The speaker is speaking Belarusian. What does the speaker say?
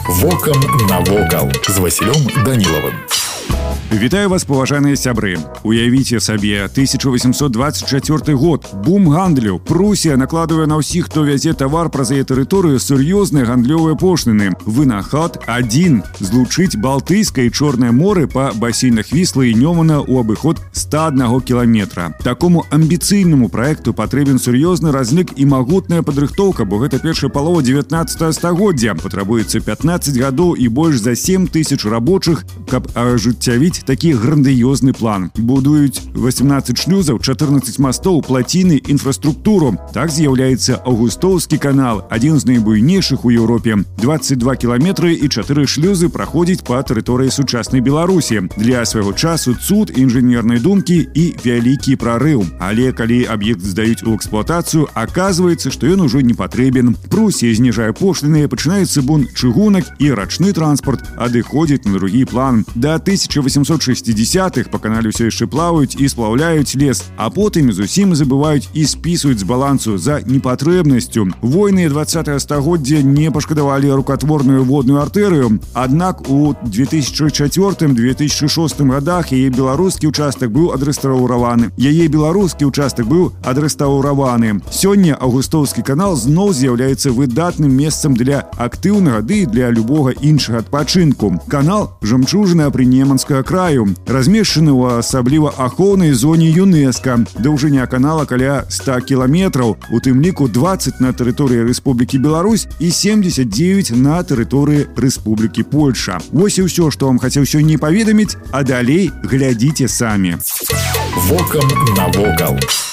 Вокам навокал з Васілём Данілавым. Вітаю вас, паважаныя сябры. Уявіце сабе, 1824 год. Бум гандлю. Прусія накладывае на ўсіх, хто вязе тавар праз яе тэрыторыю, сур'ёзныя гандлёвыя пошліны. Вынахад адзін – злучыць Балтыйскае і Чорнае моры па басейнах Віслы і Нёмана ў абыход 101 кіламетра. Такому амбіцыйнаму праекту патрэбен сур'ёзны разлік і магутная падрыхтоўка, бо гэта першая палова 19 стагоддзя. Патрабуецца 15 гадоў і больш за 7 тысяч рабочых, каб ажыццявіць такі грандыёзны план. Будуюць 18 шлюзаў, 14 мастоў, плаціны, інфраструктуру. Так з'яўляецца Аўгустоўскі канал, адзін з найбуйнейшых у Еўропе. 22 кіламетры і 4 шлюзы праходзяць па тэрыторыі сучаснай Беларусі. Для свайго часу цуд інжынернай думкі і вялікі прарыў. Але калі аб'ект здаюць у эксплуатацыю, аказваецца, што ён ужо не патрэбен. Прусія зніжае пошліны, пачынаецца бун чыгунак і рачны транспорт адыходзіць на другі план. Да 1860-х па канале ўсё яшчэ плаваюць і сплаўляюць лес, а потым зусім забываюць і спісваюць з балансу за непатрэбнасцю. Войны 20-го стагоддзя не пашкадавалі рукатворную водную артэрыю, аднак у 2004-2006 годах яе беларускі ўчастак быў адрэстаўраваны. Сёння Аўгустоўскі канал зноў з'яўляецца выдатным месцам для актыўнага ды і для любога іншага адпачынку. Канал – жамчужына Прынеманскага краю, размешчаны ў асабліва ахоўнай зоне ЮНЕСКО. Даўжыня канала каля 100 кіламетраў, у тым ліку 20 на тэрыторыі Рэспублікі Беларусь і 79 на тэрыторыі Рэспублікі Польша. Вось і ўсё, што вам хацеў сёння паведаміць, а далей глядзіце самі. Вокам навокал.